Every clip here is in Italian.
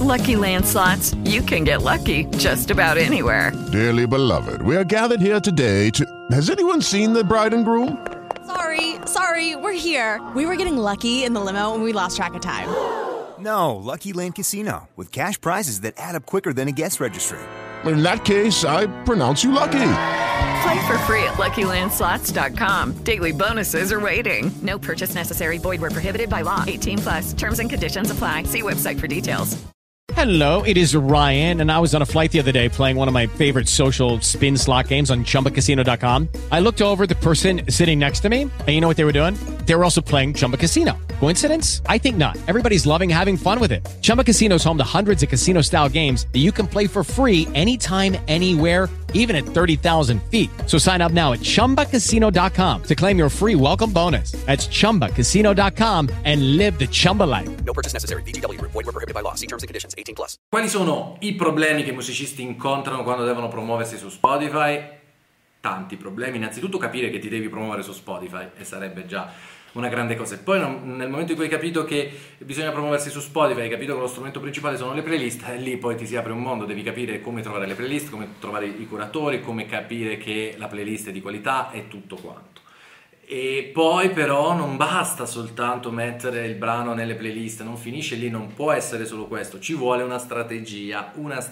Lucky Land Slots, you can get lucky just about anywhere. Dearly beloved, we are gathered here today to... Has anyone seen the bride and groom? Sorry, we're here. We were getting lucky in the limo and we lost track of time. No, Lucky Land Casino, with cash prizes that add up quicker than a guest registry. In that case, I pronounce you lucky. Play for free at LuckyLandSlots.com. Daily bonuses are waiting. No purchase necessary. Void where prohibited by law. 18+. Terms and conditions apply. See website for details. Hello, it is Ryan, and I was on a flight the other day playing one of my favorite social spin slot games on ChumbaCasino.com. I looked over at the person sitting next to me, and you know what they were doing? They were also playing Chumba Casino. Coincidence? I think not. Everybody's loving having fun with it. Chumba Casino is home to hundreds of casino-style games that you can play for free anytime, anywhere, even at 30,000 feet. So sign up now at ChumbaCasino.com to claim your free welcome bonus. That's ChumbaCasino.com and live the Chumba life. No purchase necessary. VGW. Void where prohibited by law. See terms and conditions. 18+. Quali sono i problemi che i musicisti incontrano quando devono promuoversi su Spotify? Tanti problemi. Innanzitutto capire che ti devi promuovere su Spotify, e sarebbe già una grande cosa. E poi nel momento in cui hai capito che bisogna promuoversi su Spotify, hai capito che lo strumento principale sono le playlist, e lì poi ti si apre un mondo. Devi capire come trovare le playlist, come trovare i curatori, come capire che la playlist è di qualità e tutto quanto. E poi però non basta soltanto mettere il brano nelle playlist, non finisce lì, non può essere solo questo, ci vuole una strategia,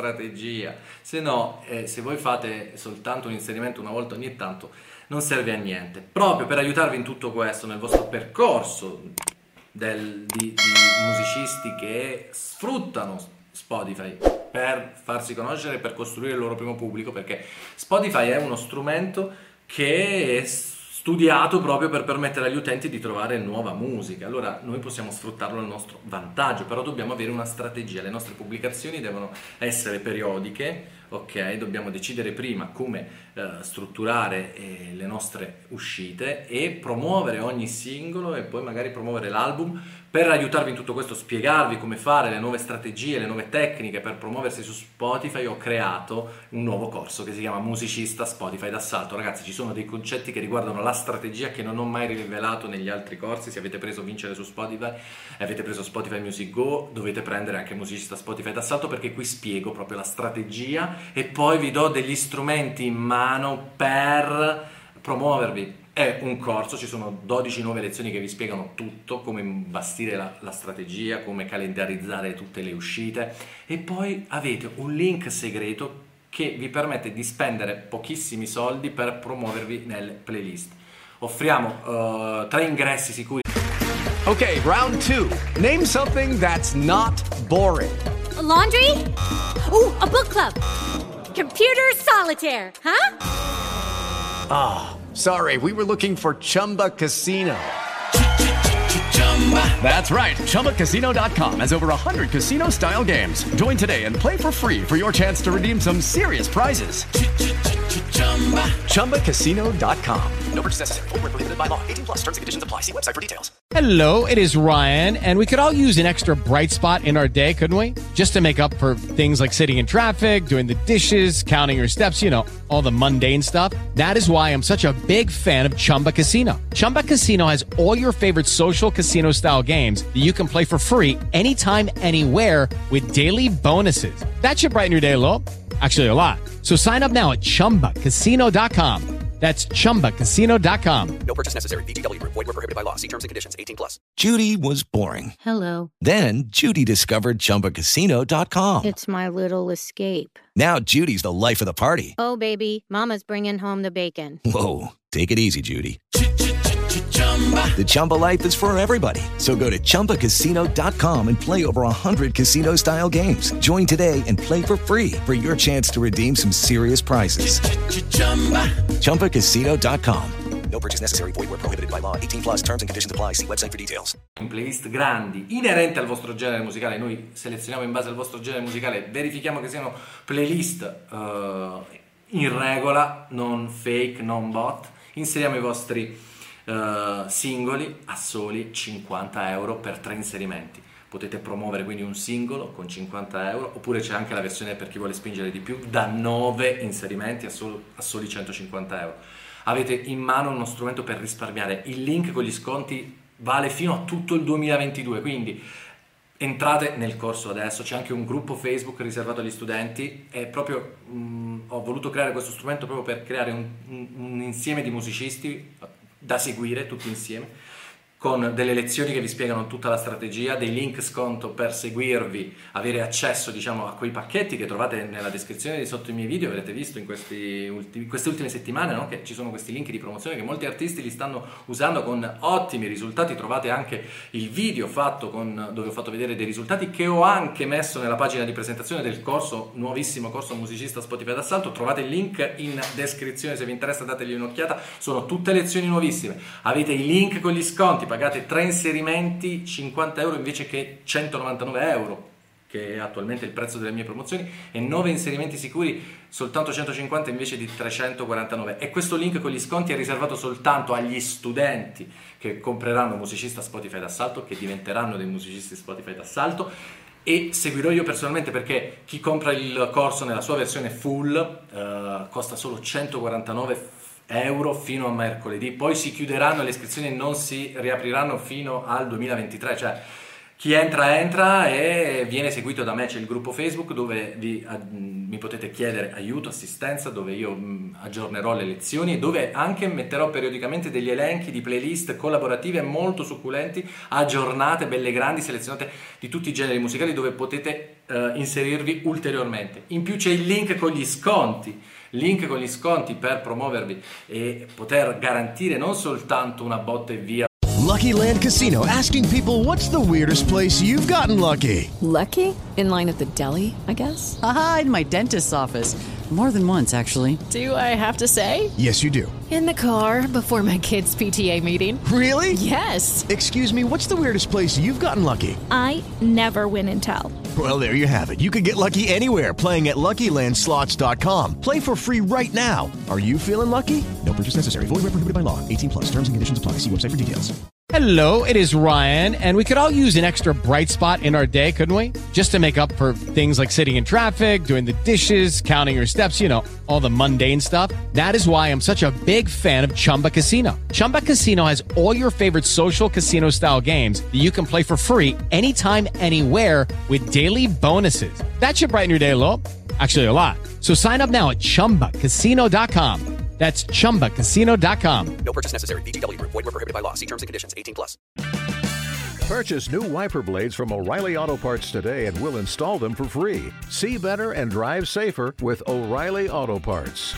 se no se voi fate soltanto un inserimento una volta ogni tanto non serve a niente. Proprio per aiutarvi in tutto questo nel vostro percorso di musicisti che sfruttano Spotify per farsi conoscere, per costruire il loro primo pubblico, perché Spotify è uno strumento che è studiato proprio per permettere agli utenti di trovare nuova musica. Allora noi possiamo sfruttarlo al nostro vantaggio, però dobbiamo avere una strategia. Le nostre pubblicazioni devono essere periodiche, ok? Dobbiamo decidere prima come strutturare le nostre uscite e promuovere ogni singolo e poi magari promuovere l'album. Per aiutarvi in tutto questo, spiegarvi come fare, le nuove strategie, le nuove tecniche per promuoversi su Spotify, ho creato un nuovo corso che si chiama Musicista Spotify d'assalto. Ragazzi, ci sono dei concetti che riguardano la strategia che non ho mai rivelato negli altri corsi. Se avete preso Vincere su Spotify e avete preso Spotify Music Go, dovete prendere anche Musicista Spotify d'assalto, perché qui spiego proprio la strategia e poi vi do degli strumenti in mano per promuovervi. È un corso, ci sono 12 nuove lezioni che vi spiegano tutto, come bastire la strategia, come calendarizzare tutte le uscite, e poi avete un link segreto che vi permette di spendere pochissimi soldi per promuovervi nelle playlist. Offriamo 3 ingressi sicuri. Okay, round 2. Name something that's not boring. A laundry? Ooh, a book club. Computer solitaire, huh? Ah. Sorry, we were looking for Chumba Casino. That's right. ChumbaCasino.com has over 100 casino-style games. Join today and play for free for your chance to redeem some serious prizes. ChumbaCasino.com. No purchase necessary. Void where prohibited by law. 18+. Terms and conditions apply. See website for details. Hello, it is Ryan, and we could all use an extra bright spot in our day, couldn't we? Just to make up for things like sitting in traffic, doing the dishes, counting your steps, you know, all the mundane stuff. That is why I'm such a big fan of Chumba Casino. Chumba Casino has all your favorite social casino-style games that you can play for free anytime, anywhere with daily bonuses. That should brighten your day a little. Actually, a lot. So sign up now at ChumbaCasino.com. That's ChumbaCasino.com. No purchase necessary. VGW. Void where prohibited by law. See terms and conditions. 18+. Judy was boring. Hello. Then Judy discovered ChumbaCasino.com. It's my little escape. Now Judy's the life of the party. Oh, baby, mama's bringing home the bacon. Whoa, take it easy, Judy. The Chumba life is for everybody. So go to ChumbaCasino.com and play over 100 casino-style games. Join today and play for free for your chance to redeem some serious prizes. ChumbaCasino.com. No purchase necessary. Void where prohibited by law. 18+. Terms and conditions apply. See website for details. In playlist grandi, inerente al vostro genere musicale. Noi selezioniamo in base al vostro genere musicale, verifichiamo che siano playlist in regola, non fake, non bot. Inseriamo i vostri singoli a soli 50 euro per 3 inserimenti. Potete promuovere quindi un singolo con 50 euro, oppure c'è anche la versione per chi vuole spingere di più da 9 inserimenti a soli 150 euro. Avete in mano uno strumento per risparmiare. Il link con gli sconti vale fino a tutto il 2022, quindi entrate nel corso adesso, c'è anche un gruppo Facebook riservato agli studenti e proprio ho voluto creare questo strumento proprio per creare un insieme di musicisti da seguire tutti insieme, con delle lezioni che vi spiegano tutta la strategia, dei link sconto per seguirvi, avere accesso a quei pacchetti che trovate nella descrizione di sotto i miei video. Avrete visto in queste ultime settimane, no? Che ci sono questi link di promozione che molti artisti li stanno usando con ottimi risultati. Trovate anche il video fatto dove ho fatto vedere dei risultati che ho anche messo nella pagina di presentazione del corso, nuovissimo corso musicista Spotify d'assalto. Trovate il link in descrizione, se vi interessa dategli un'occhiata, sono tutte lezioni nuovissime. Avete i link con gli sconti, pagate 3 inserimenti 50 euro invece che 199 euro, che è attualmente il prezzo delle mie promozioni, e 9 inserimenti sicuri soltanto 150 invece di 349. E questo link con gli sconti è riservato soltanto agli studenti che compreranno Musicista Spotify d'assalto, che diventeranno dei musicisti Spotify d'assalto, e seguirò io personalmente, perché chi compra il corso nella sua versione full costa solo 149 euro fino a mercoledì, poi si chiuderanno le iscrizioni e non si riapriranno fino al 2023, cioè chi entra e viene seguito da me. C'è il gruppo Facebook dove mi potete chiedere aiuto, assistenza, dove io aggiornerò le lezioni e dove anche metterò periodicamente degli elenchi di playlist collaborative molto succulenti, aggiornate, belle grandi, selezionate di tutti i generi musicali, dove potete inserirvi ulteriormente. In più c'è il link con gli sconti per promuovervi e poter garantire non soltanto una botta e via. Lucky Land Casino, asking people, what's the weirdest place you've gotten lucky? Lucky? In line at the deli, I guess? Aha, in my dentist's office. More than once, actually. Do I have to say? Yes, you do. In the car before my kids' PTA meeting. Really? Yes. Excuse me, what's the weirdest place you've gotten lucky? I never win and tell. Well, there you have it. You can get lucky anywhere, playing at LuckyLandSlots.com. Play for free right now. Are you feeling lucky? No purchase necessary. Void where prohibited by law. 18+. Terms and conditions apply. See website for details. Hello, it is Ryan, and we could all use an extra bright spot in our day, couldn't we? Just to make up for things like sitting in traffic, doing the dishes, counting your steps, all the mundane stuff. That is why I'm such a big fan of Chumba Casino. Chumba Casino has all your favorite social casino-style games that you can play for free anytime, anywhere with daily bonuses. That should brighten your day a little. Actually, a lot. So sign up now at ChumbaCasino.com. That's ChumbaCasino.com. No purchase necessary. VGW Group. Void where prohibited by law. See terms and conditions. 18+. Purchase new wiper blades from O'Reilly Auto Parts today and we'll install them for free. See better and drive safer with O'Reilly Auto Parts.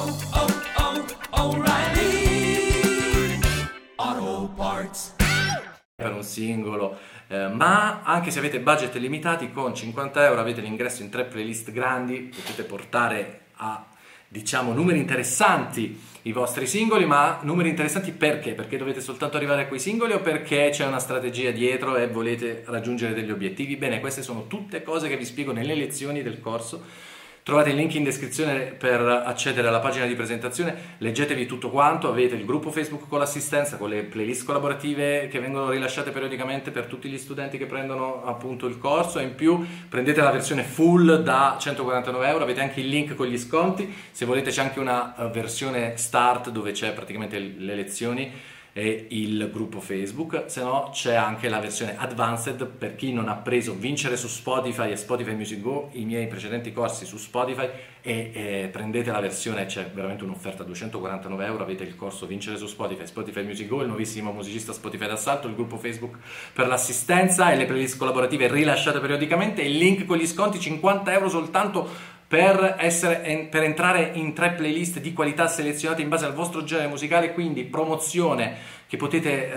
O'Reilly Auto Parts. Per un singolo, ma anche se avete budget limitati, con 50 euro avete l'ingresso in 3 playlist grandi, potete portare a numeri interessanti i vostri singoli. Ma numeri interessanti perché? Perché dovete soltanto arrivare a quei singoli o perché c'è una strategia dietro e volete raggiungere degli obiettivi? Bene, queste sono tutte cose che vi spiego nelle lezioni del corso. Trovate il link in descrizione per accedere alla pagina di presentazione, leggetevi tutto quanto, avete il gruppo Facebook con l'assistenza, con le playlist collaborative che vengono rilasciate periodicamente per tutti gli studenti che prendono appunto il corso, e in più prendete la versione full da 149 euro, avete anche il link con gli sconti. Se volete c'è anche una versione start dove c'è praticamente le lezioni e il gruppo Facebook, se no c'è anche la versione advanced per chi non ha preso Vincere su Spotify e Spotify Music Go, i miei precedenti corsi su Spotify, e prendete la versione, c'è veramente un'offerta a 249 euro, avete il corso Vincere su Spotify, Spotify Music Go, il nuovissimo musicista Spotify d'assalto, il gruppo Facebook per l'assistenza e le playlist collaborative rilasciate periodicamente, il link con gli sconti, 50 euro soltanto per entrare in 3 playlist di qualità selezionate in base al vostro genere musicale, quindi promozione che potete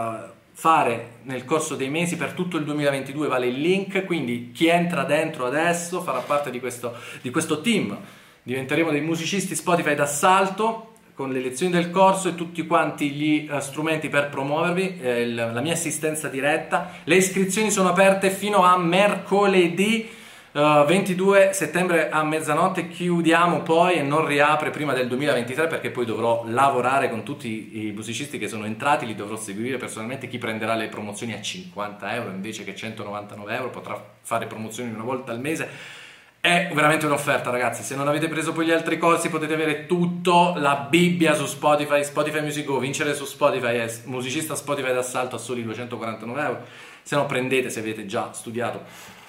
fare nel corso dei mesi per tutto il 2022, vale il link, quindi chi entra dentro adesso farà parte di questo team, diventeremo dei musicisti Spotify d'assalto con le lezioni del corso e tutti quanti gli strumenti per promuovervi, la mia assistenza diretta. Le iscrizioni sono aperte fino a mercoledì 22 settembre a mezzanotte, chiudiamo poi e non riapre prima del 2023, perché poi dovrò lavorare con tutti i musicisti che sono entrati, li dovrò seguire personalmente. Chi prenderà le promozioni a 50 euro invece che 199 euro potrà fare promozioni una volta al mese. È veramente un'offerta, ragazzi. Se non avete preso poi gli altri corsi potete avere tutto, la Bibbia su Spotify, Spotify Music Go, Vincere su Spotify e musicista Spotify d'assalto a soli 249 euro. se no prendete, se avete già studiato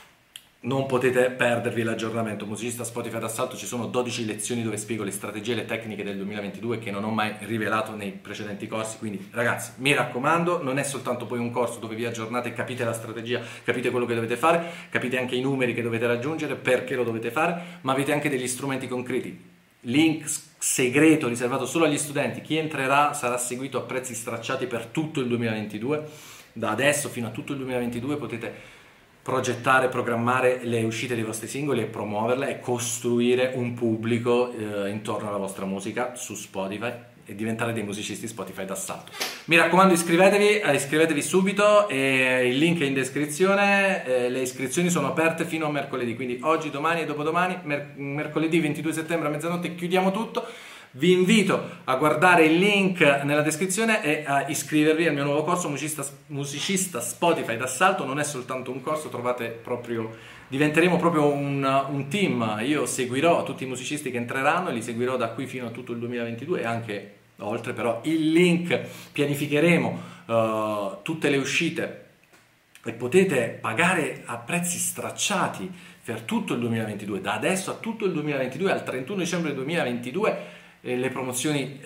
non potete perdervi l'aggiornamento. Musicista Spotify d'assalto, ci sono 12 lezioni dove spiego le strategie e le tecniche del 2022 che non ho mai rivelato nei precedenti corsi, quindi ragazzi mi raccomando, non è soltanto poi un corso dove vi aggiornate, capite la strategia, capite quello che dovete fare, capite anche i numeri che dovete raggiungere, perché lo dovete fare, ma avete anche degli strumenti concreti. Link segreto riservato solo agli studenti, chi entrerà sarà seguito a prezzi stracciati per tutto il 2022, da adesso fino a tutto il 2022 potete progettare, programmare le uscite dei vostri singoli e promuoverle e costruire un pubblico intorno alla vostra musica su Spotify e diventare dei musicisti Spotify d'assalto. Mi raccomando, iscrivetevi subito, e il link è in descrizione. Le iscrizioni sono aperte fino a mercoledì, quindi oggi, domani e dopodomani, mercoledì 22 settembre a mezzanotte chiudiamo tutto. Vi invito a guardare il link nella descrizione e a iscrivervi al mio nuovo corso musicista Spotify d'assalto. Non è soltanto un corso, diventeremo proprio un team. Io seguirò tutti i musicisti che entreranno e li seguirò da qui fino a tutto il 2022 e anche oltre, però il link, pianificheremo tutte le uscite e potete pagare a prezzi stracciati per tutto il 2022, da adesso a tutto il 2022, al 31 dicembre 2022, le promozioni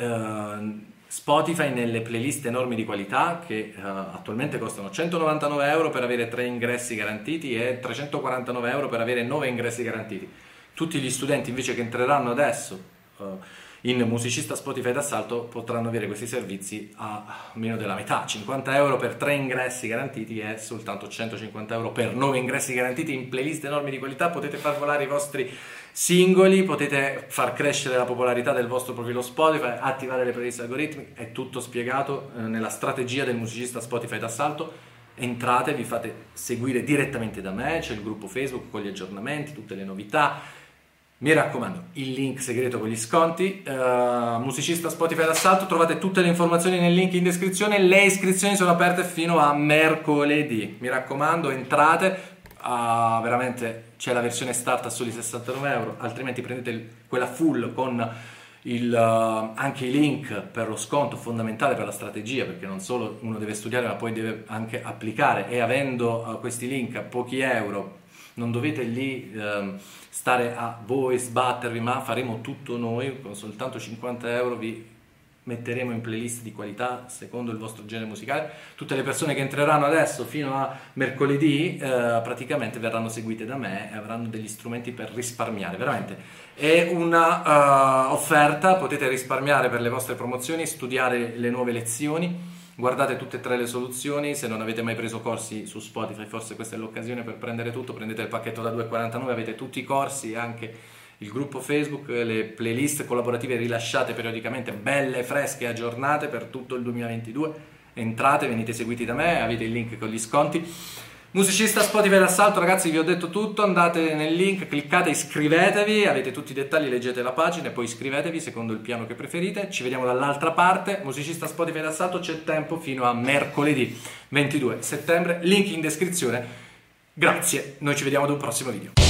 Spotify nelle playlist enormi di qualità che attualmente costano 199 euro per avere 3 ingressi garantiti e 349 euro per avere 9 ingressi garantiti. Tutti gli studenti invece che entreranno adesso in musicista Spotify d'assalto potranno avere questi servizi a meno della metà, 50 euro per 3 ingressi garantiti e soltanto 150 euro per 9 ingressi garantiti in playlist enormi di qualità. Potete far volare i vostri singoli, potete far crescere la popolarità del vostro profilo Spotify, attivare le playlist algoritmiche, è tutto spiegato nella strategia del musicista Spotify d'assalto. Entrate, vi fate seguire direttamente da me, c'è il gruppo Facebook con gli aggiornamenti, tutte le novità. Mi raccomando, il link segreto con gli sconti, musicista Spotify d'assalto, trovate tutte le informazioni nel link in descrizione. Le iscrizioni sono aperte fino a mercoledì, mi raccomando, entrate. Veramente c'è la versione start a soli 69 euro, altrimenti prendete quella full con anche i link per lo sconto, fondamentale per la strategia, perché non solo uno deve studiare ma poi deve anche applicare, e avendo questi link a pochi euro non dovete lì stare a voi sbattervi, ma faremo tutto noi. Con soltanto 50 euro vi metteremo in playlist di qualità secondo il vostro genere musicale. Tutte le persone che entreranno adesso fino a mercoledì praticamente verranno seguite da me e avranno degli strumenti per risparmiare. Veramente è una offerta, potete risparmiare per le vostre promozioni, studiare le nuove lezioni. Guardate tutte e 3 le soluzioni. Se non avete mai preso corsi su Spotify, forse questa è l'occasione per prendere tutto. Prendete il pacchetto da 2,49, avete tutti i corsi, anche il gruppo Facebook, le playlist collaborative rilasciate periodicamente, belle, fresche, aggiornate per tutto il 2022. Entrate, venite seguiti da me, avete il link con gli sconti. Musicista Spotify d'assalto, ragazzi, vi ho detto tutto. Andate nel link, cliccate, iscrivetevi, avete tutti i dettagli, leggete la pagina e poi iscrivetevi secondo il piano che preferite. Ci vediamo dall'altra parte. Musicista Spotify d'assalto, c'è tempo fino a mercoledì 22 settembre, link in descrizione. Grazie, noi ci vediamo ad un prossimo video.